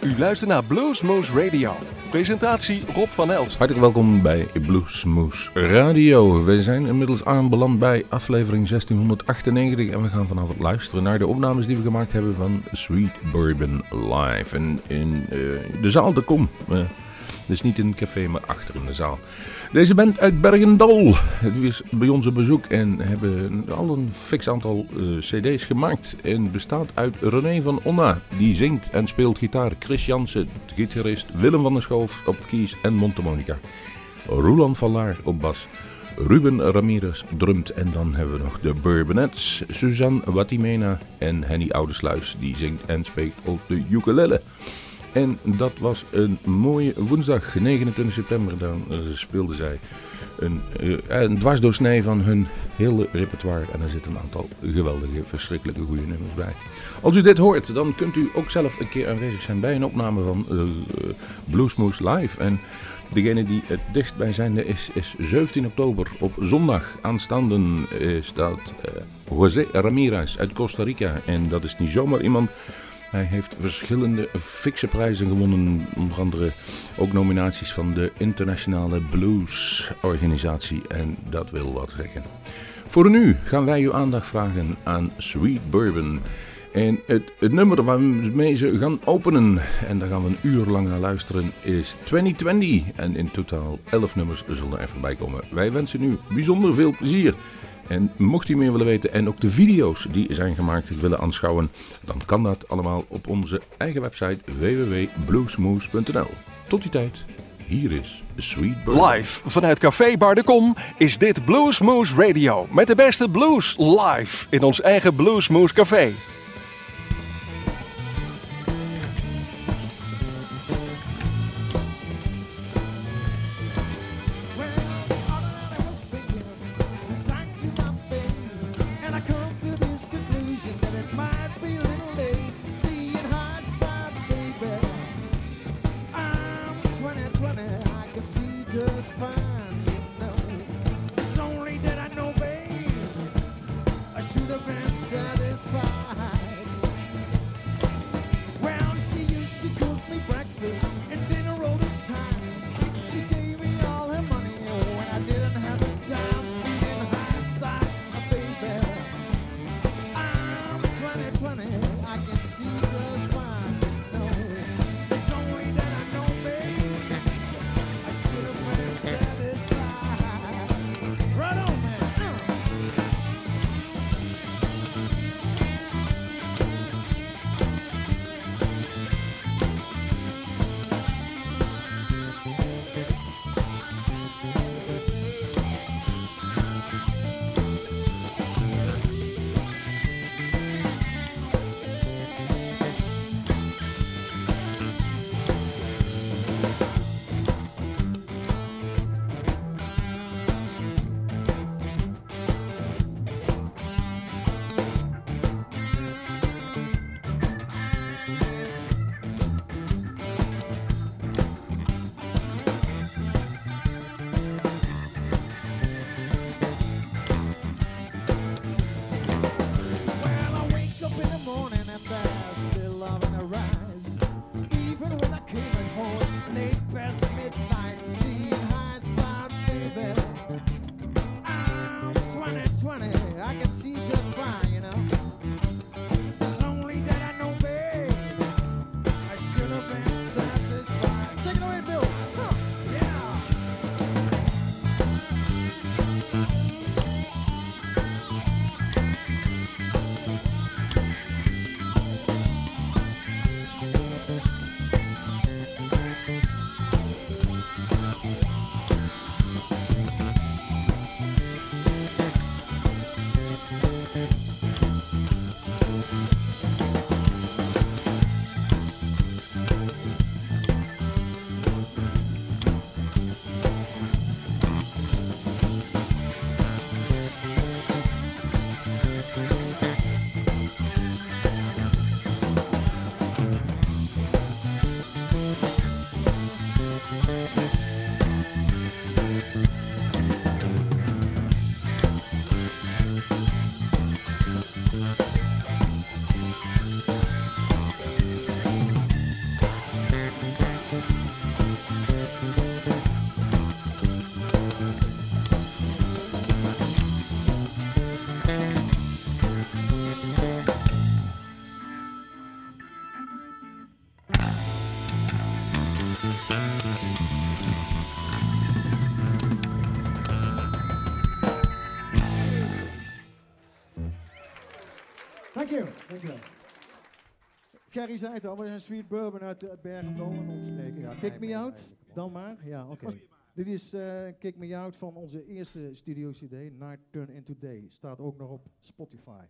U luistert naar Bluesmoose Radio. Presentatie Rob van Elst. Hartelijk welkom bij Bluesmoose Radio. We zijn inmiddels aanbeland bij aflevering 1698 en we gaan vanavond luisteren naar de opnames die we gemaakt hebben van Sweet Bourbon Live. En in de zaal, de Kom. Dus niet in het café, maar achter in de zaal. Deze band uit Bergendal is bij ons op bezoek en hebben al een fix aantal cd's gemaakt. En bestaat uit René van Onna, die zingt en speelt gitaar. Chris Jansen, gitarist. Willem van der Schoof op keys en mondharmonica. Roland van Laar op bas. Ruben Ramirez drumt. En dan hebben we nog de Bourbonettes. Suzanne Watimena en Henny Oudersluis, die zingt en speelt op de ukulele. En dat was een mooie woensdag, 29 september. Dan speelden zij een dwarsdoorsnee van hun hele repertoire. En er zitten een aantal geweldige, verschrikkelijke goede nummers bij. Als u dit hoort, dan kunt u ook zelf een keer aanwezig zijn bij een opname van Bluesmoose Live. En degene die het dichtst bij zijnde is 17 oktober op zondag aanstaande staat José Ramirez uit Costa Rica. En dat is niet zomaar iemand. Hij heeft verschillende fikse prijzen gewonnen, onder andere ook nominaties van de Internationale Blues Organisatie en dat wil wat zeggen. Voor nu gaan wij uw aandacht vragen aan Sweet Bourbon. En het nummer waarmee ze gaan openen, en daar gaan we een uur lang naar luisteren, is 2020. En in totaal 11 nummers zullen er voorbij komen. Wij wensen u bijzonder veel plezier. En mocht u meer willen weten en ook de video's die zijn gemaakt willen aanschouwen, dan kan dat allemaal op onze eigen website www.bluesmoose.nl. Tot die tijd, hier is Sweet Bourbon. Live vanuit Café Bar de Kom is dit Bluesmoose Radio met de beste blues live in ons eigen Bluesmoose Café. Kerry zei het al, we zijn Sweet Bourbon uit Bergendal en omstreken. Ja, Kick Me Out, dan maar. Ja, oké. Dit is Kick Me Out van onze eerste studio CD, Night Turn Into Day. Staat ook nog op Spotify.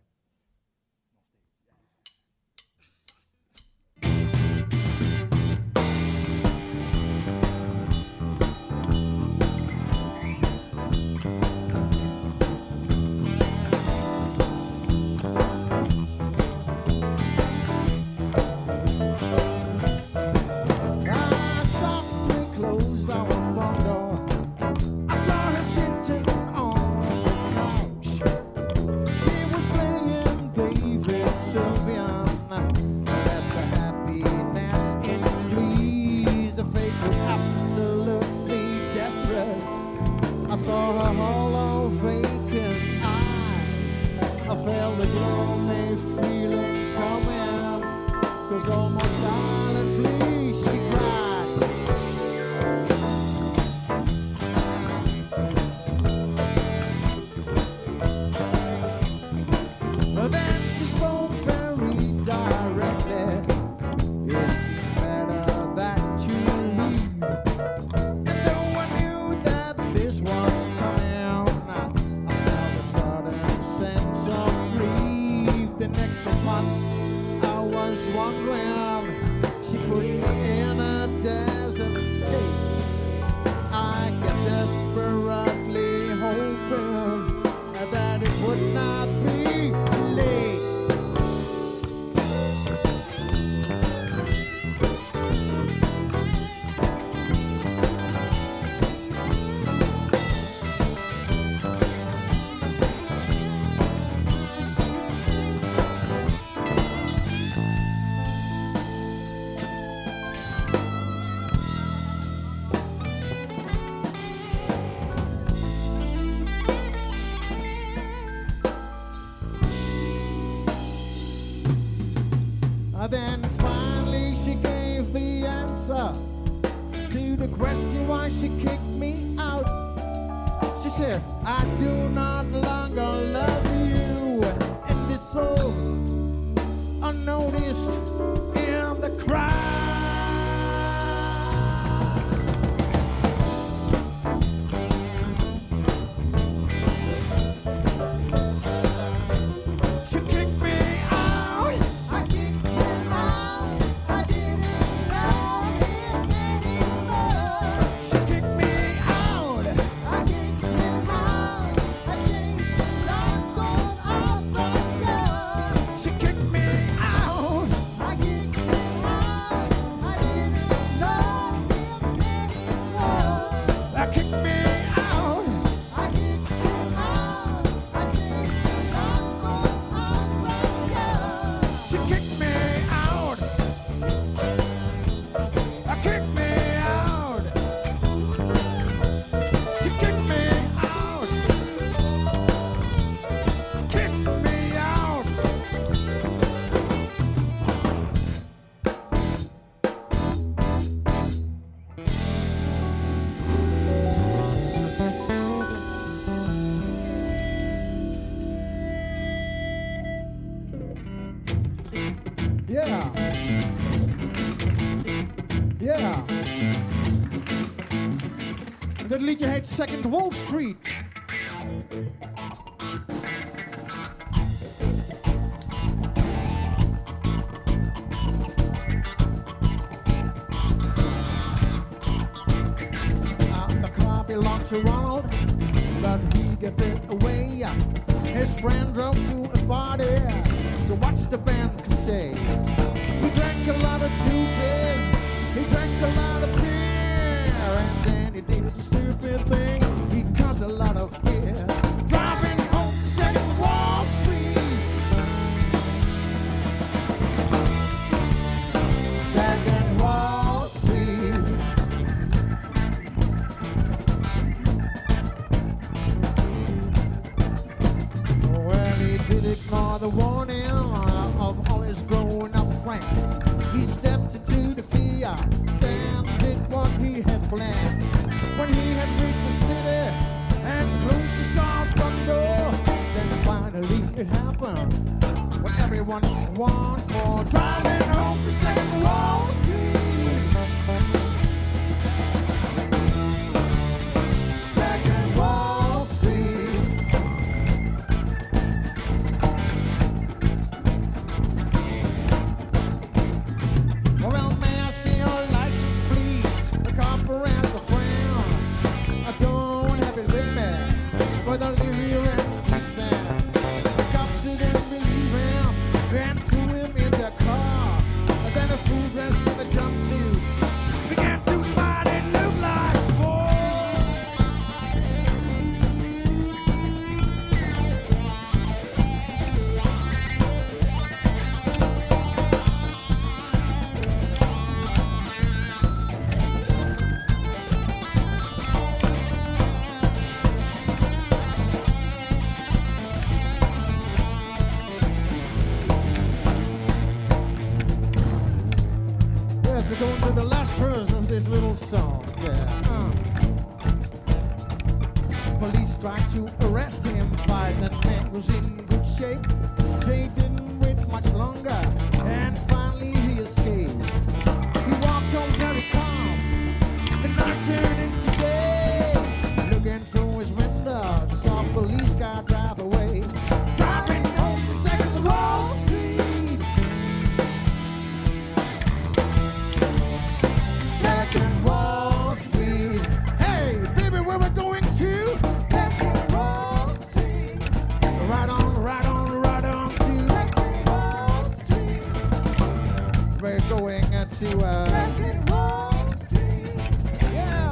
Then finally she gave the answer to the question why she kicked me out. She said, I do not longer love you. And this so unnoticed in the crowd. Dat liedje heet Second Wall Street. The car belonged to Ronald, but he gave it away. His friend drove to a party to watch the band say. He drank a lot of juices, he drank a lot of beer, and then he did a stupid thing. He caused a lot of fear. Driving home to Second Wall Street. Second Wall Street. Well, he did ignore the warning of all his grown-up friends. He stepped into the Fiat and did what he had planned. When he had reached the city and closed his car front door, then finally it happened. What everyone wants for driving home. going to the last verse of this little song. Yeah. Police tried to arrest him. Fight that man was in good shape. They didn't wait much longer, and finally he escaped. He walked home very calm. The night turned into day. Looking through his window, saw a police car drive away. Driving home to Second Wall Street. Second Wall Street. Hey, baby, where we're going to? Second Wall Street. Right on to Second Wall Street. We're going to Second Wall Street. Yeah.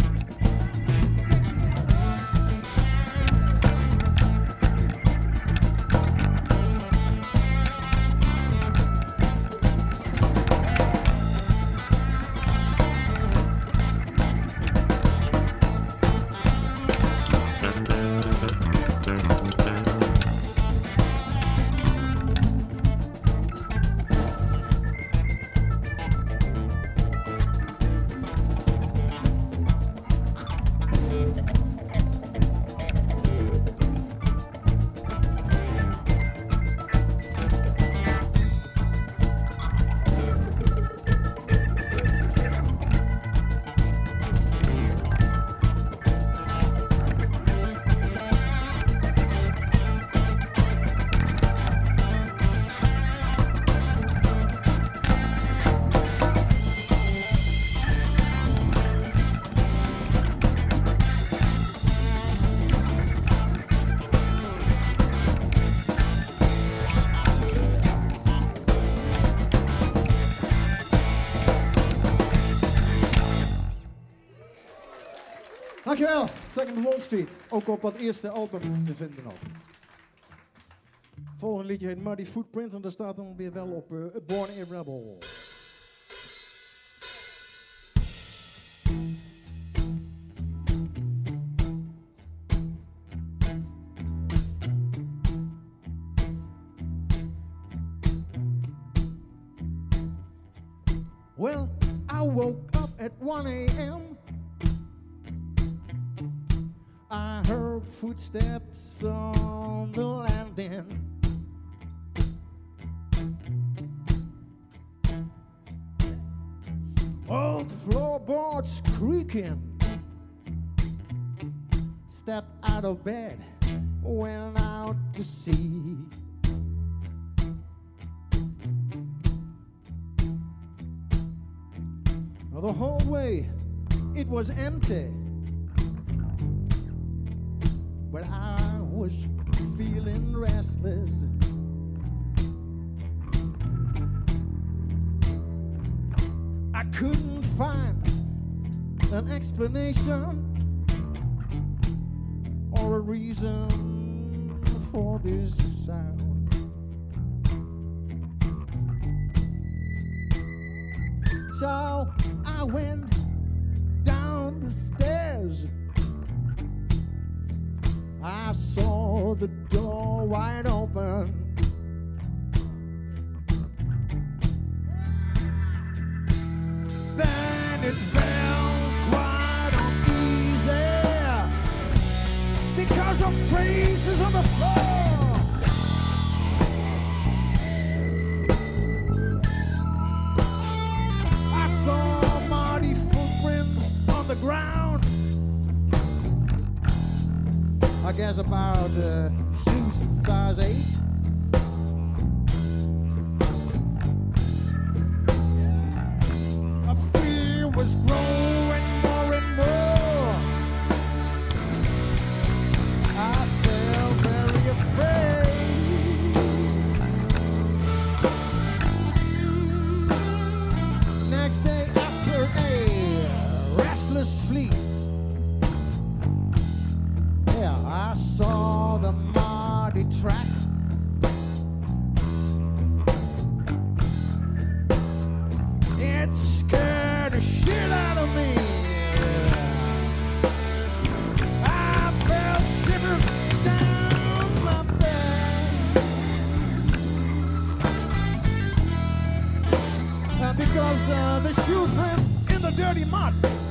Dankjewel, Second Wall Street. Ook op dat eerste album te vinden nog. Volgende liedje heet Muddy Footprints en daar staat dan weer wel op Born a Rebel. Well, I woke up at 1 a.m. I heard footsteps on the landing. Old floorboards creaking. Stepped out of bed, went out to see. The whole way, it was empty. But I was feeling restless. I couldn't find an explanation or a reason for this sound. So I went down the stairs. I saw the door wide open. Then it felt quite uneasy because of traces on the floor. I saw muddy footprints on the ground. I guess about 6 size 8. A fear was growing more and more. I felt very afraid. Next day after a restless sleep, I saw the muddy track. It scared the shit out of me. I felt shivers down my back. because the shoe print in the dirty mud,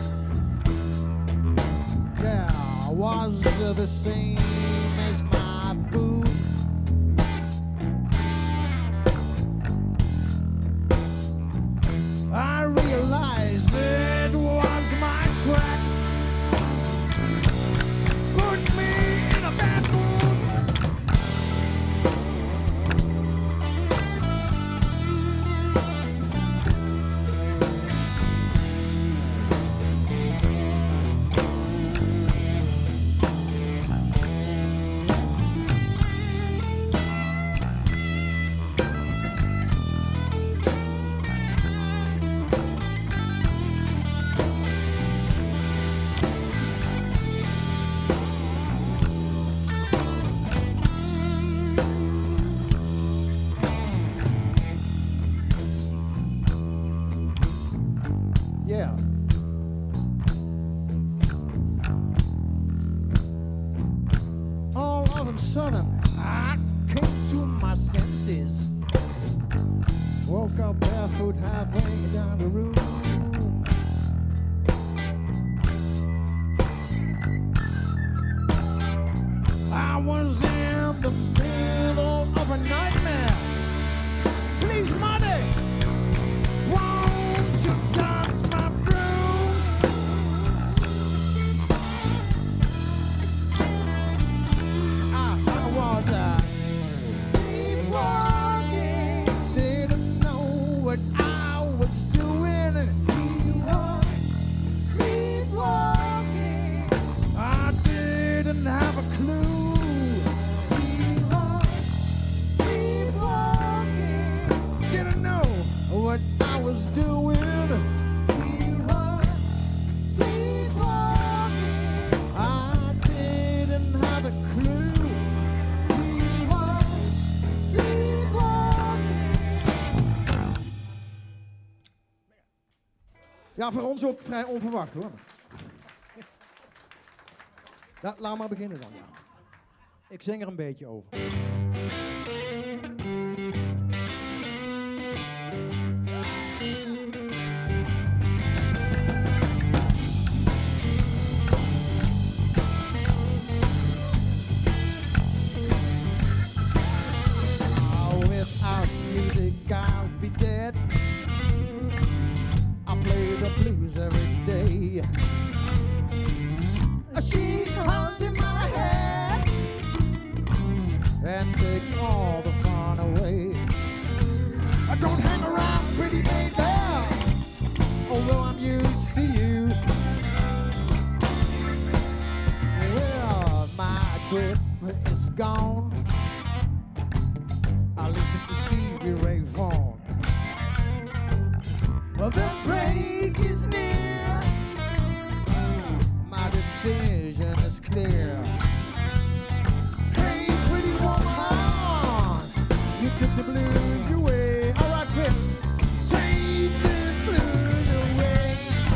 yeah, was the same as my boot. I realized it was my track. Put me in a bad mood. Ja, voor ons ook vrij onverwacht hoor. Laat maar beginnen dan, ja. Ik zing er een beetje over. Without music I'll be dead. Play the blues every day. She's haunting my head and takes all the fun away. I don't hang around, pretty baby, although I'm used to you. Well, my grip is gone. I listen to Stevie Ray Vaughan. Well, the break is near. My decision is clear. Hey, pretty woman, you took the blues away. All right, Chris, take the blues away.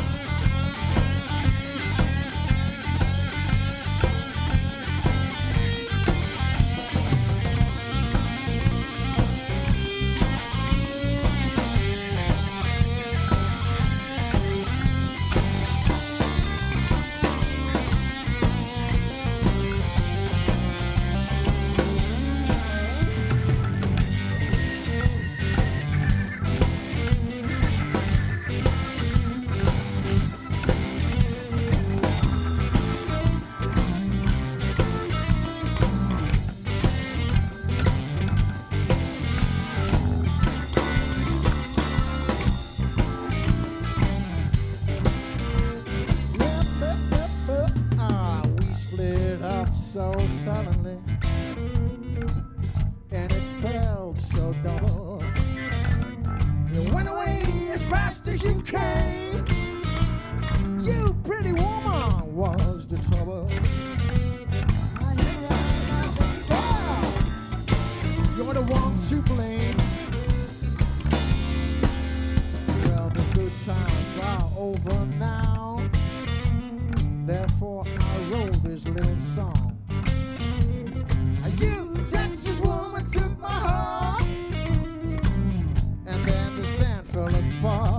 So suddenly, and it felt so double. You went away as fast as you came. You pretty woman was the trouble. You're the one to blame. Well, the good times are over now. Therefore, I wrote this little song. You Texas woman took my heart, and then this band fell apart.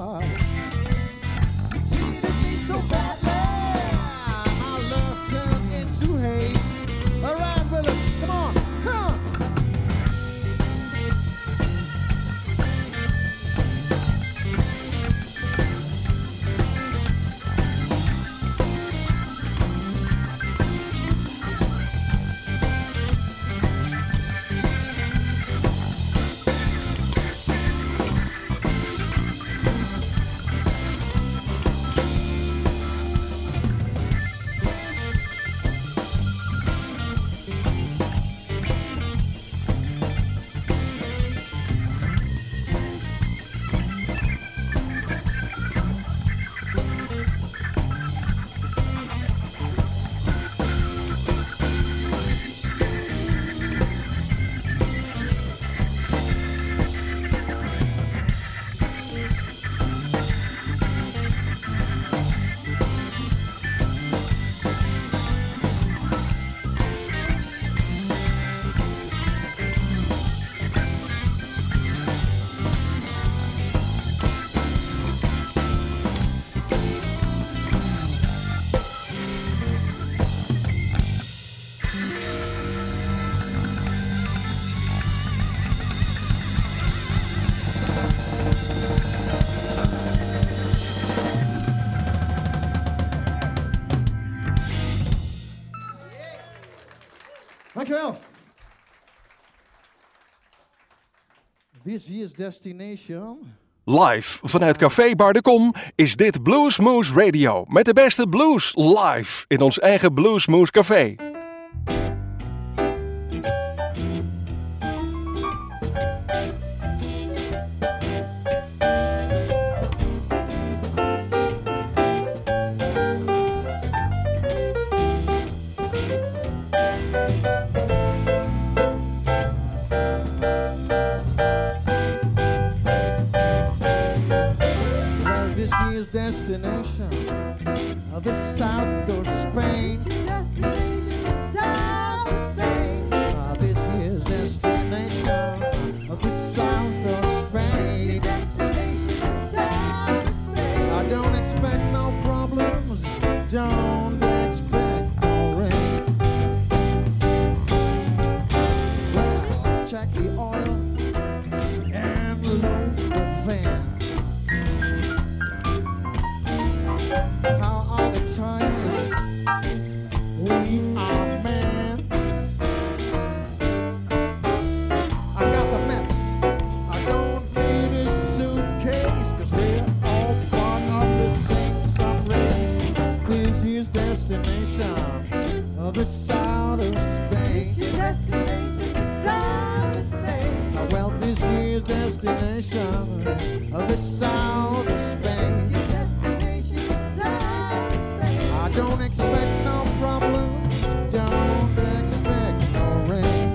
Dankjewel. This year's destination. Live vanuit Café Bar de Kom is dit Bluesmoose Radio. Met de beste blues live in ons eigen Bluesmoose Café. Destination of the south of Spain. This year's destination, the south of Spain. This year's destination of the south of Spain. This year's destination, the south of Spain. I don't expect no problems, don't expect no rain. Well, check the oil and load the van. How are the tires? We are man. I got the maps. I don't need a suitcase, 'cause we're all part of the same sun race. This is destination of the south of Spain. This year's destination, the south of Spain. Well, this is destination of the south of Spain. This year's destination, the south of Spain. I don't expect no problems, don't expect no rain.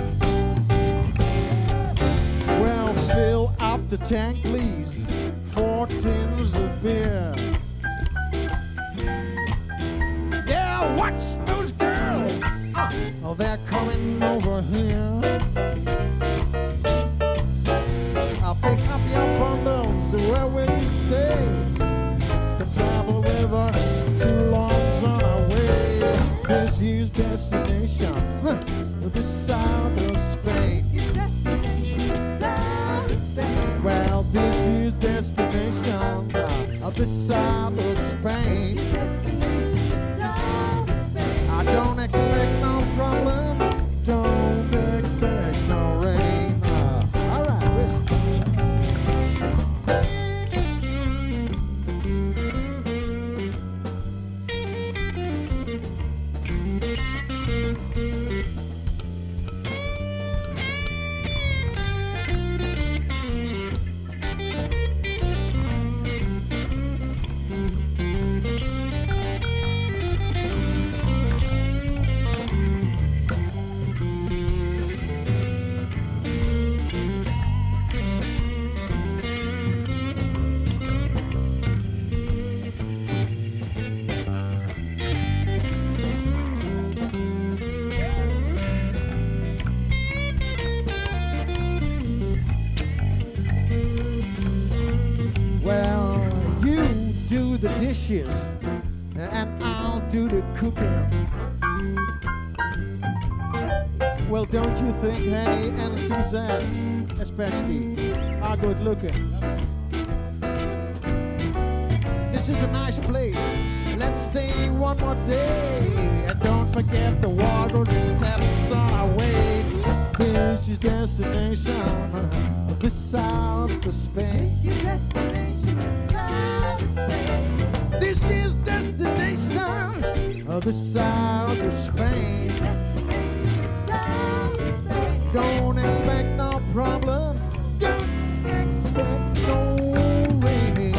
Well, fill up the tank, please, 4 tins of beer. Yeah, watch those girls. Oh, they're coming over here. I'll pick up your bundles, where will you stay? Can travel with us 2 longs on our way. This is destination, the south of Spain. This year's destination, the south of Spain. Well, this is destination of the south of Spain. This year's destination, the south of Spain. I don't expect no problems, don't expect no rain. All right, Chris. Well, you do the dishes, and I'll do the cooking. Well, don't you think Henny and Suzanne, especially, are good looking? This is a nice place. Let's stay one more day. And don't forget the water taps on our way. This is destination of the south of Spain. This year's destination, the south of Spain. This is destination of the south of This Spain. year's destination, the south of Spain. Don't expect no problems, don't expect no rain.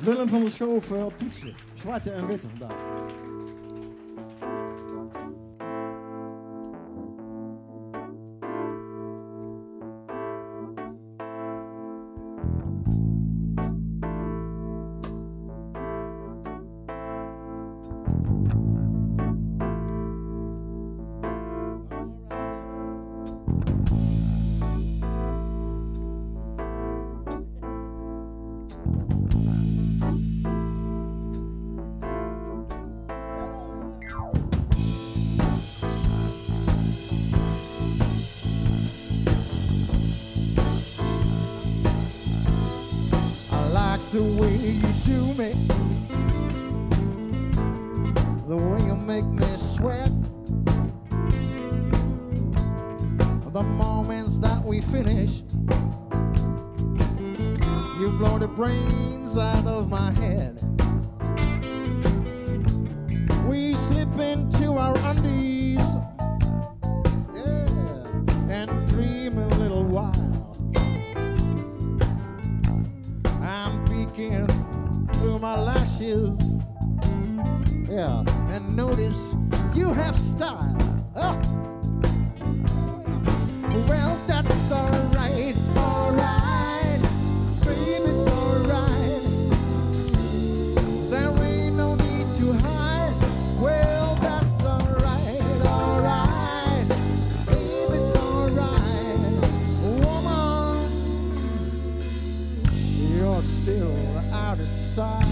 Willem van der Schoof op toetsen. Zwarte en witte vandaag. The way you do me, the way you make me sweat, the moments that we finish, you blow the brains out of my head. We slip into our undies, yeah, and dream a little while. Through my lashes, yeah, and notice you have style. Well, that's alright, baby, it's alright. There ain't no need to hide. Well, that's alright, baby, it's alright. Woman, you're still out of sight.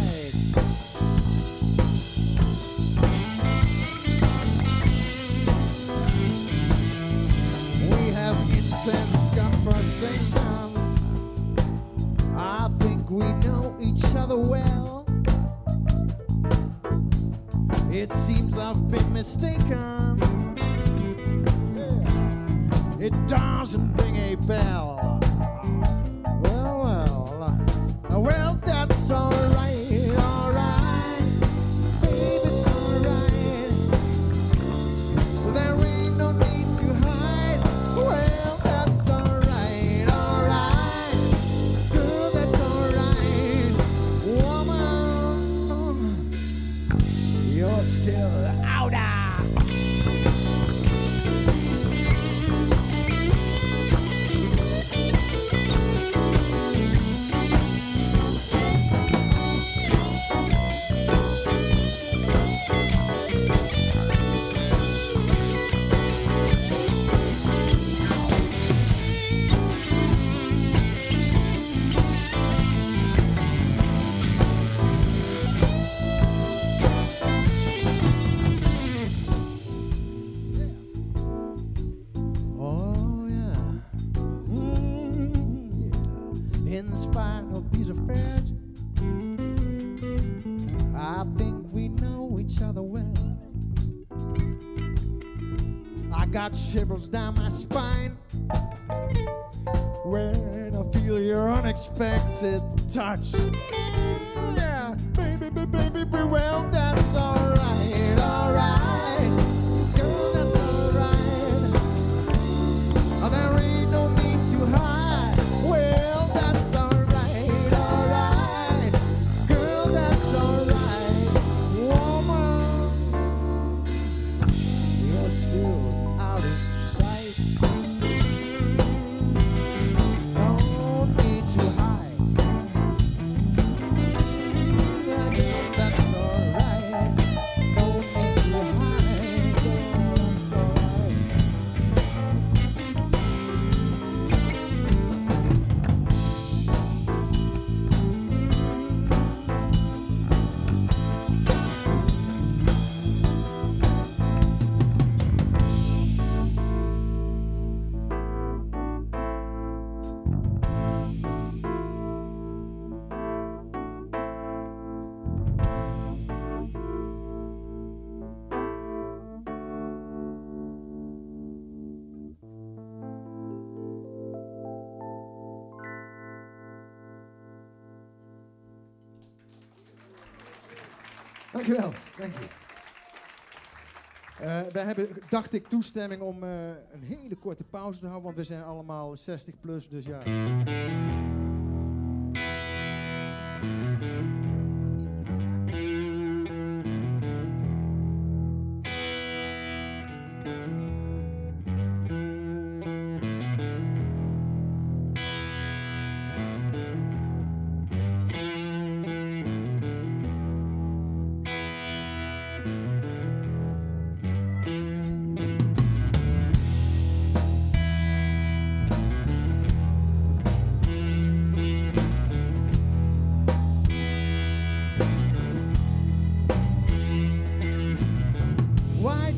We have intense conversations. I think we know each other well. It seems I've been mistaken. Yeah. It doesn't ring a bell. Well, that's alright, baby, it's alright. There ain't no need to hide. Well, that's alright, girl, that's alright. Woman, you're still out. In spite of these affairs, I think we know each other well. I got shivers down my spine when I feel your unexpected touch. Yeah, baby, well, that's alright, girl, that's alright. There ain't no need to hide. Well, that's alright, girl, that's alright. Woman, you're still out of sight. No need to hide. That's alright. No need to hide. That's alright. Dankjewel, dank je. Wij hebben, dacht ik, toestemming om een hele korte pauze te houden, want we zijn allemaal 60 plus, dus ja.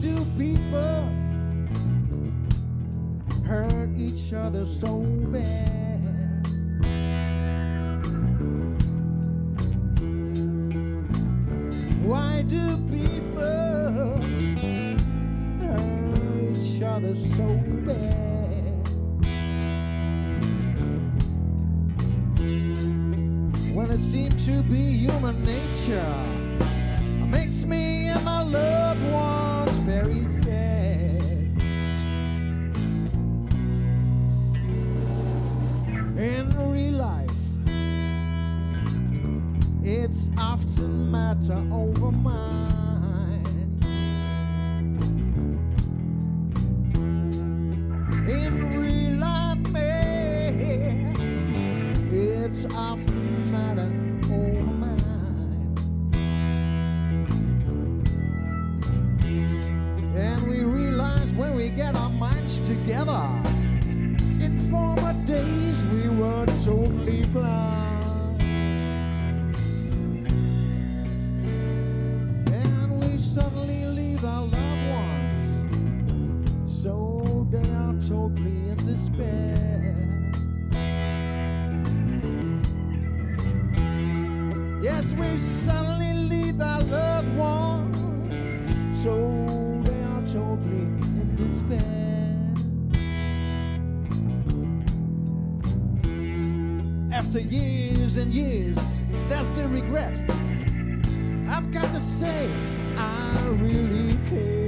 do people hurt each other so bad? Why do people hurt each other so bad? When it seems to be human nature, makes me and my loved ones very sad. In real life, it's often matter over mine. In real life, man, it's often matter over mine. And we realize when we get our minds together, in former days we were totally blind. And we suddenly leave our loved ones, so they are totally in despair. Yes, we suddenly leave our loved ones, so totally in despair. After years and years, that's the regret. I've got to say, I really care.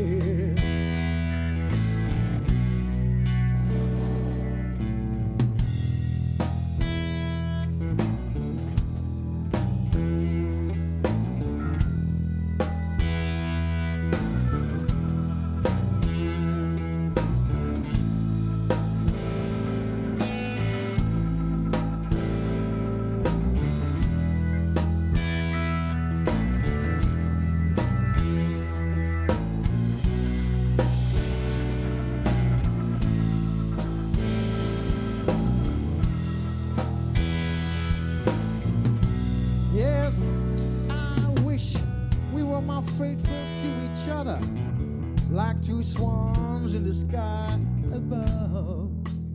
Like two swans in the sky above.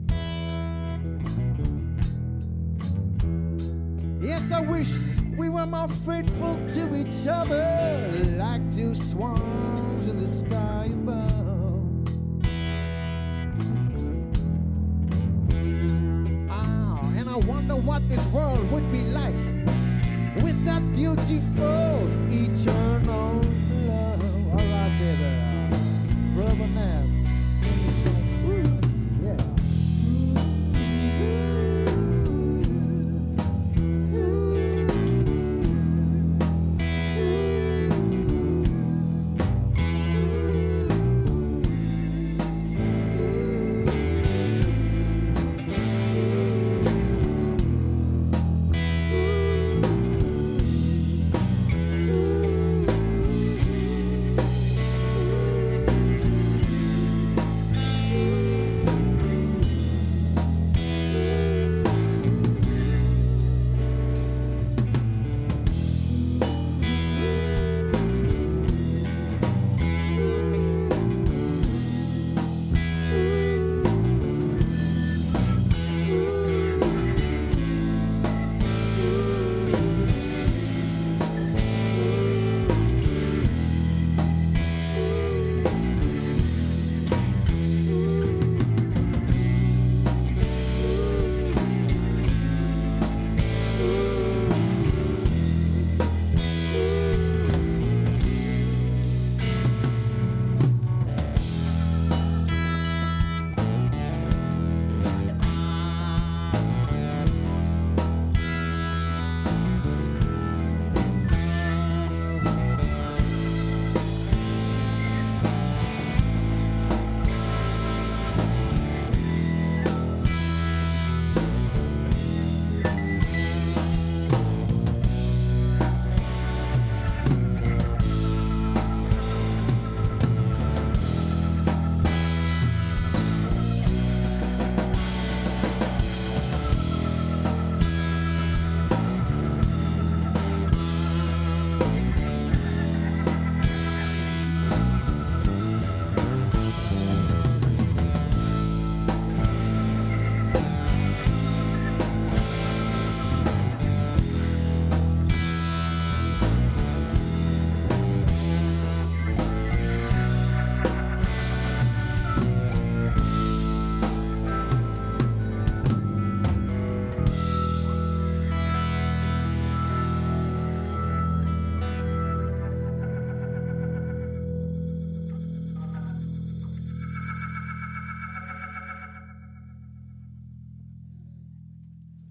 Yes, I wish we were more faithful to each other, like two swans in the sky above. Oh, and I wonder what this world would be like with that beautiful eternal love. All right, baby. Rubber Nats. Yeah.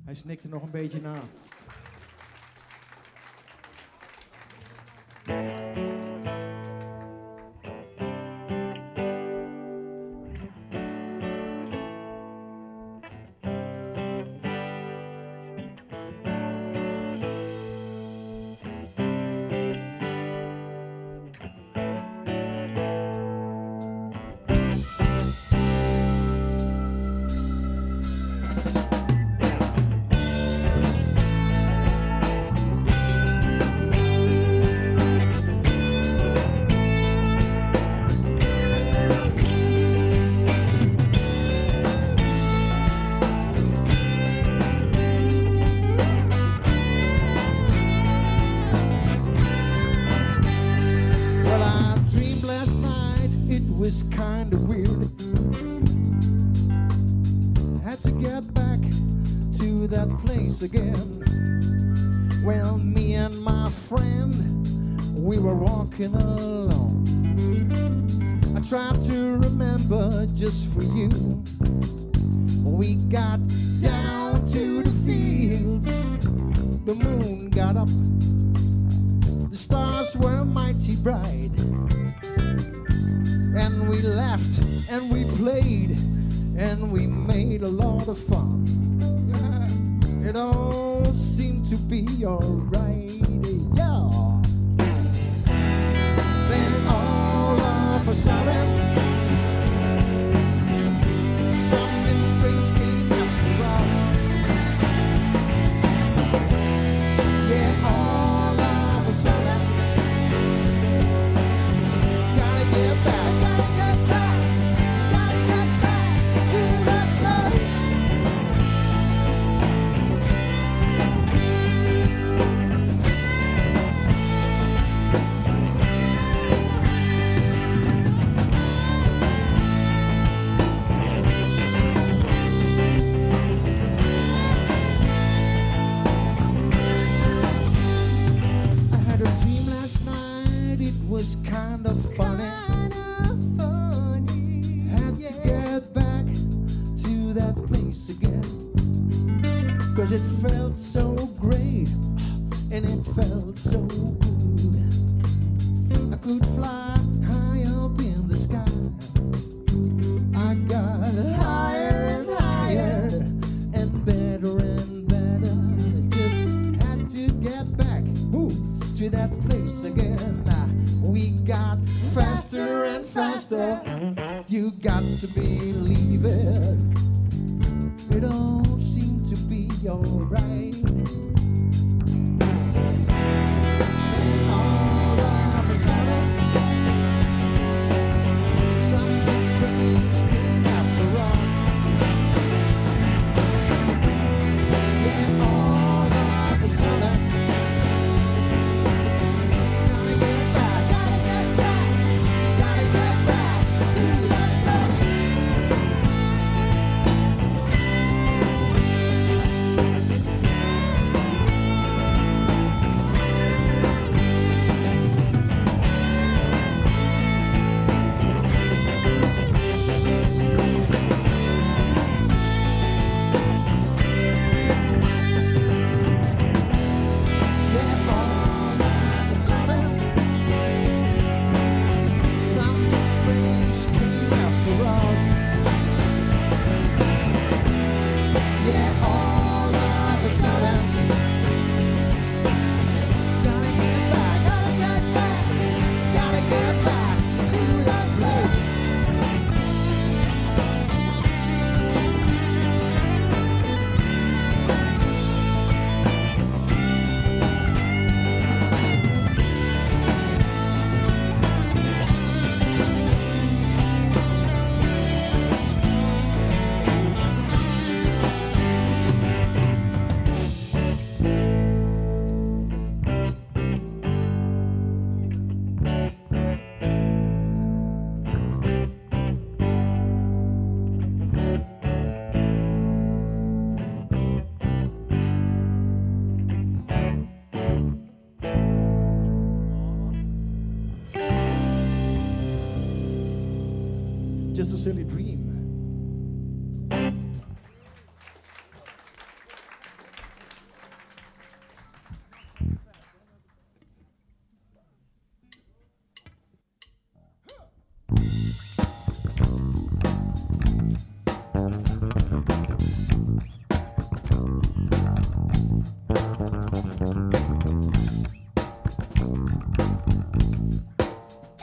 Hij snikte nog een beetje na. Again, well, me and my friend, we were walking along. I tried to remember just for you. We got down to the fields, the moon got up, the stars were mighty bright, and we laughed and we played and we made a lot of fun. It all seemed to be alright, yeah. Then all of a sudden, something strange came after all. Yeah, all of a sudden, gotta get back, gotta get back, gotta get back to that place. Was kind of funny. Had to get back to that place again, 'cause it felt so great and it felt so good. I could fly high up in the sky. I got higher and higher and better. Just had to get back to that place again. We got faster and faster. You got to believe it. It all seemed to be alright. And all of a sudden, something strange came after all. Yeah, all of a sudden, gotta get back. Just a silly dream.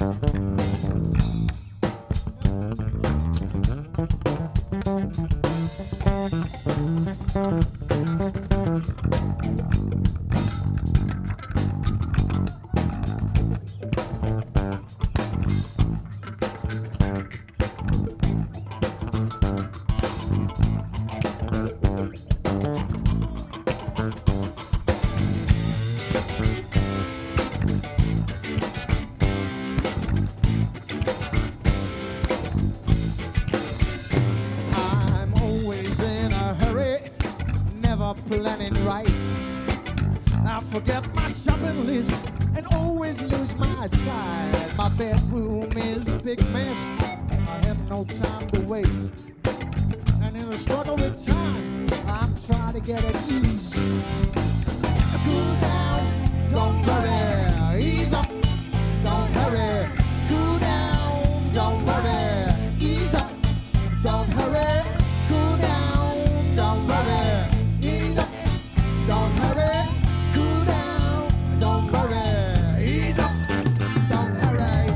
Planning right. I forget my shopping list and always lose my sight. My bedroom is a big mess. I have no time to wait. And in a struggle with time, I'm trying to get at ease. Cool down, don't worry. Ease up, don't hurry. Cool down, don't worry. Ease up, don't hurry. Cool down, don't worry. Don't hurry, cool down, don't worry, ease up, don't hurry.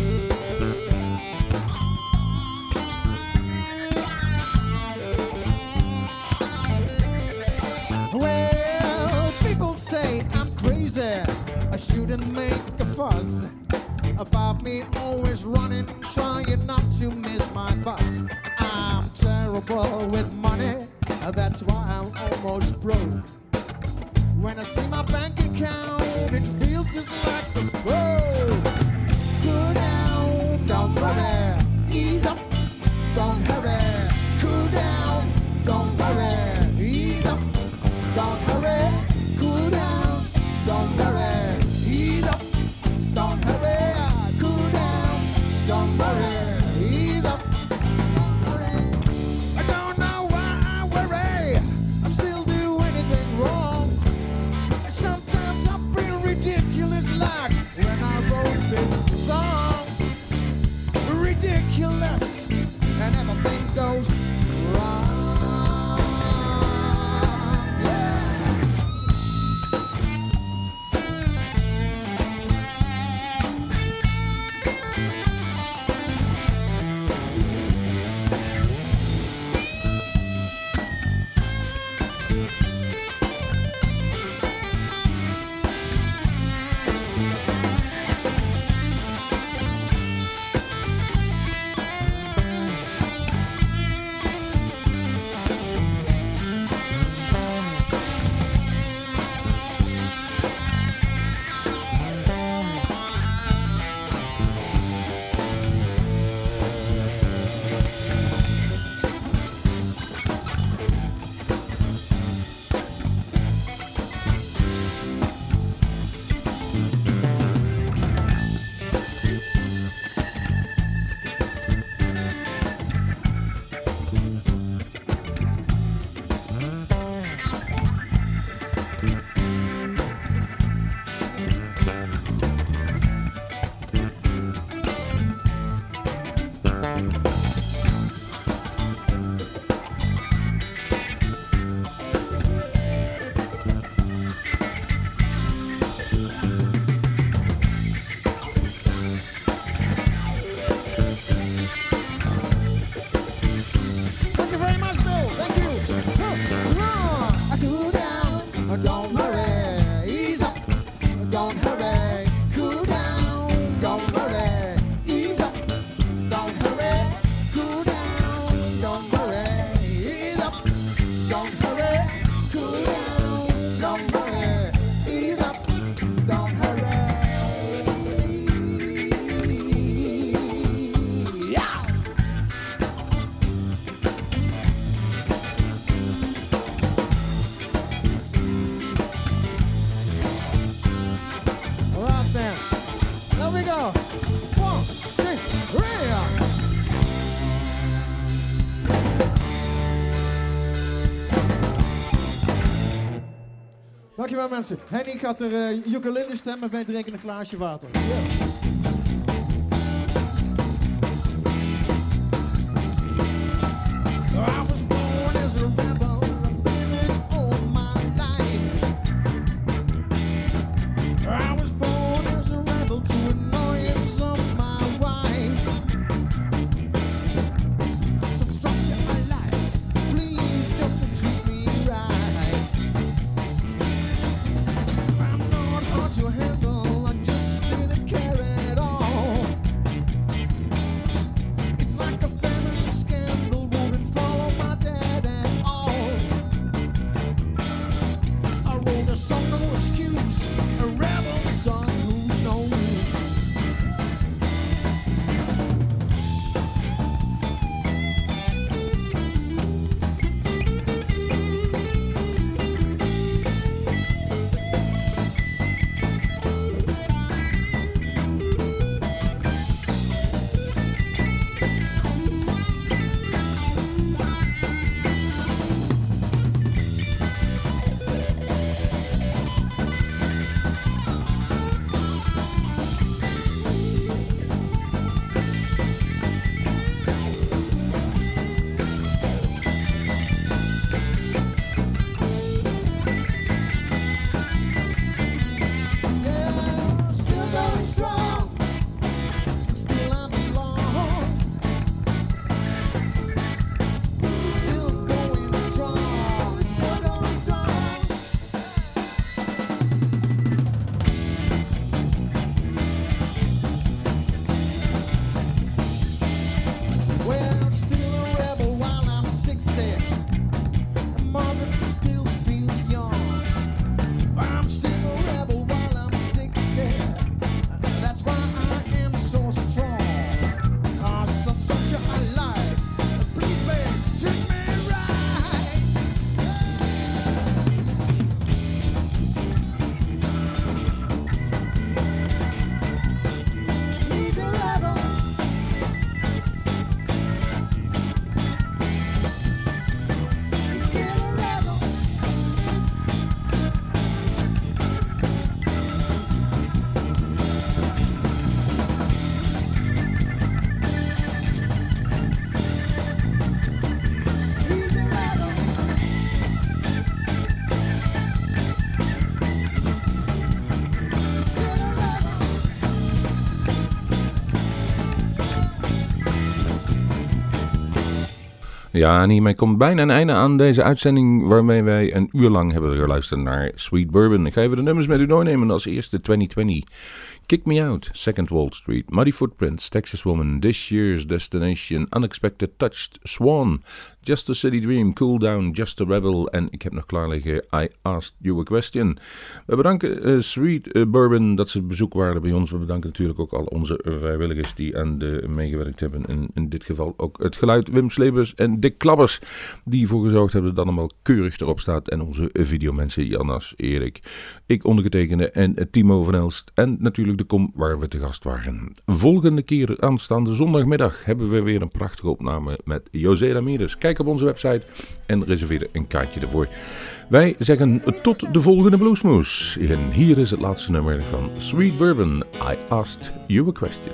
Well, people say I'm crazy, I shouldn't make a fuss about me always running, trying not to miss my bus. I'm terrible with money, that's why I'm almost broke. When I see my bank account, it feels just like the road. Cool down, don't worry, ease up, don't hurry. Cool down, don't worry, ease up, don't hurry. Cool down, don't worry, ease up, don't hurry. Cool down, don't worry, ease up, don't hurry. I don't know why I worry, I still do anything wrong. Sometimes I feel ridiculous like when I wrote this song. Ridiculous, and everything goes wrong. Dankjewel mensen. Henny gaat er ukulele stemmen bij drinken een glaasje water. Yes. I was born as a rebel to annoyance of my Ja, en hiermee komt bijna een einde aan deze uitzending waarmee wij een uur lang hebben geluisterd naar Sweet Bourbon. Ik ga even de nummers met u doornemen. Als eerste 2020, Kick Me Out, Second Wall Street, Muddy Footprints, Texas Woman, This Year's Destination, Unexpected Touched, Swan, Just a City Dream, Cool Down, Just a Rebel en ik heb nog klaar liggen I Asked You a Question. We bedanken Sweet Bourbon dat ze bezoek waren bij ons. We bedanken natuurlijk ook al onze vrijwilligers die aan de meegewerkt hebben. En in dit geval ook het geluid Wim Slebers en Dick Klabbers die ervoor gezorgd hebben dat het allemaal keurig erop staat. En onze videomensen Jannas, Erik, ik ondergetekende en Timo van Elst en natuurlijk de Kom waar we te gast waren. Volgende keer aanstaande zondagmiddag hebben we weer een prachtige opname met José Ramirez. Kijk op onze website en reserveer een kaartje ervoor. Wij zeggen tot de volgende Bluesmoose. En hier is het laatste nummer van Sweet Bourbon, I Asked You a Question.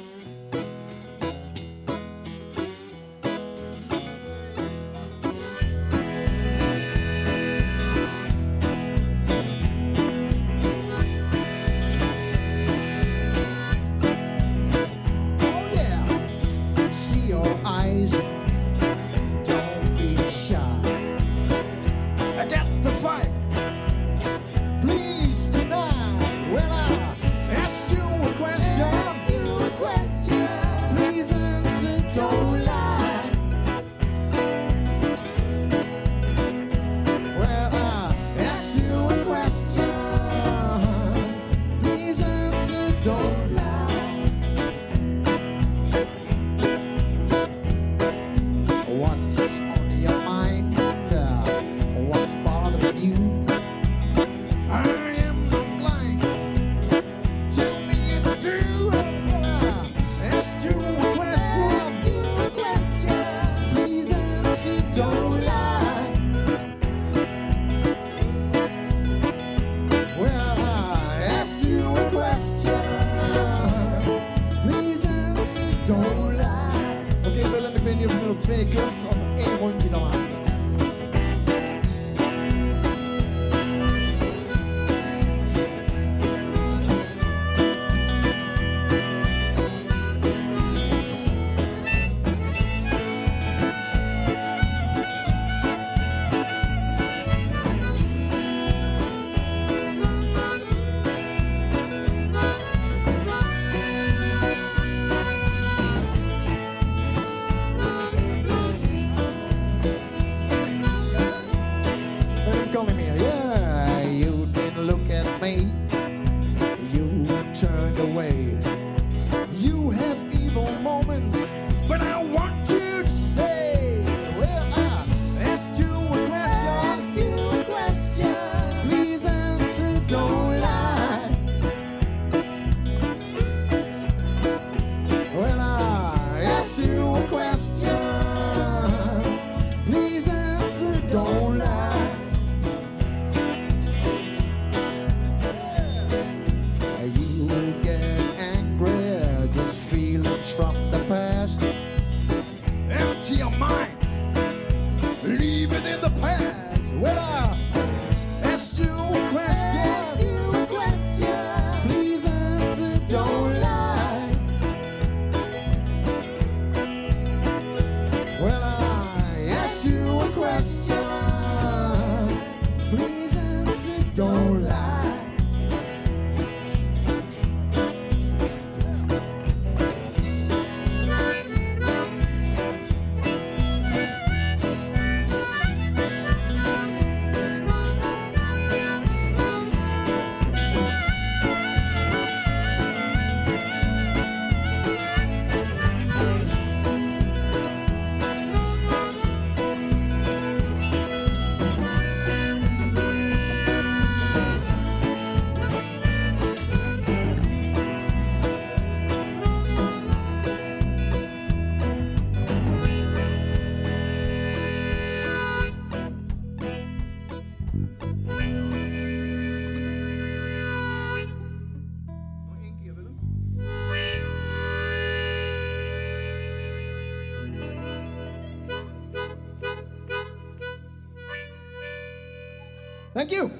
Thank you.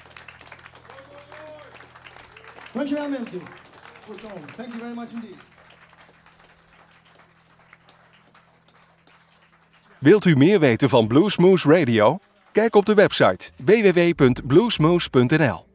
Dankjewel mensen voor het komen. Thank you very much indeed. Wilt u meer weten van Bluesmoose Radio? Kijk op de website www.bluesmoose.nl.